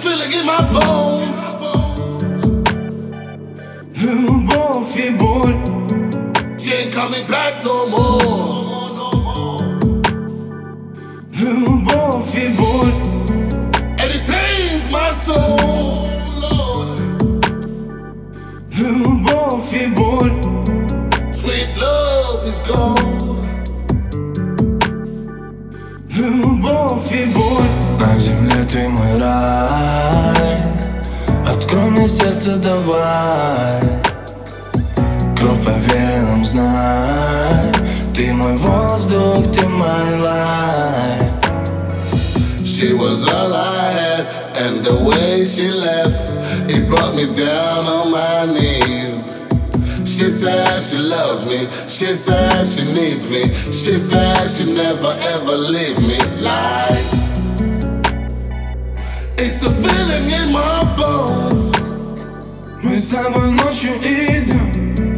feeling in my bones. Любовь и боль. She ain't coming back no more. Любовь и боль. And it pains my soul, Lord. Любовь и боль. Sweet love is gone. Любовь и боль. На земле ты мой рай. Открой мне сердце, давай. Кровь по венам, знай. Ты мой воздух, ты мой life. She was all I had, and the way she left, it brought me down on my knees. She said she loves me, she said she needs me, she said she never ever leave me. Lies. It's a feeling in my bones. Мы с тобой ночью и днем.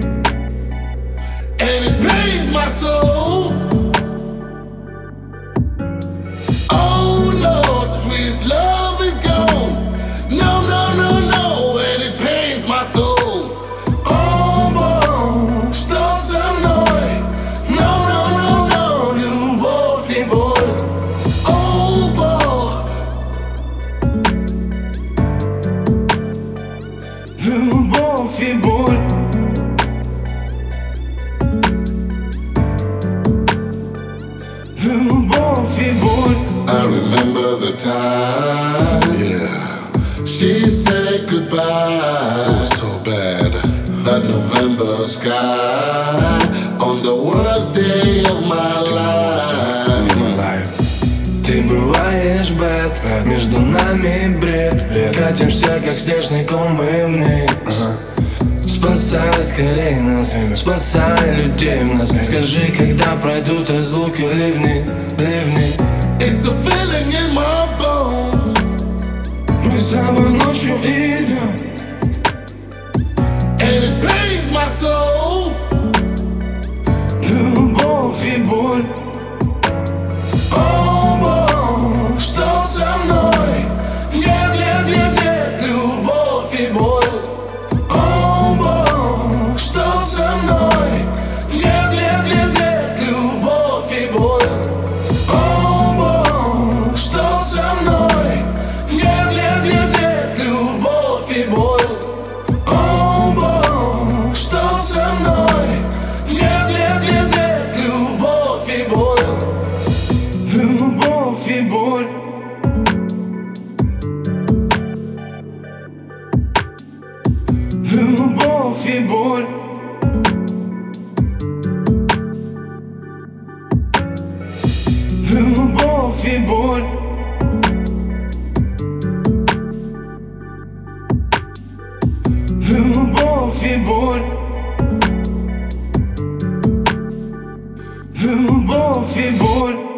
And it pains my soul. Oh Lord, sweet love is gone. No, no, no, no, and it pains my soul. Oh Бог, что со мной? No, no, no, no, любовь и боль. Oh Бог, Любовь и боль. Любовь и боль. I remember the time, yeah. She said goodbye. It was so bad. That November sky on the worst day of my life. Ты бываешь бэд, между нами бред. Катимся, как снежный ком, мы вниз. Спасай скорее нас, спасай людей в нас. Скажи, когда пройдут разлуки, ливни, ливни. It's a feeling in my bones. Мы с тобой ночью и днем. And it pains my soul. Любовь и боль. Oh Бог, что со мной? Нет, нет, нет, нет, любовь и боль. Oh Бог, что со мной? Нет, нет, нет, нет, любовь и боль. Oh Бог, что со мной? Нет, нет, нет, нет, любовь и боль. Oh Бог, что со мной? Нет, нет, нет, нет, любовь и боль. Любовь и боль. Любовь и боль. Любовь и боль. Любовь и боль. Любовь и боль.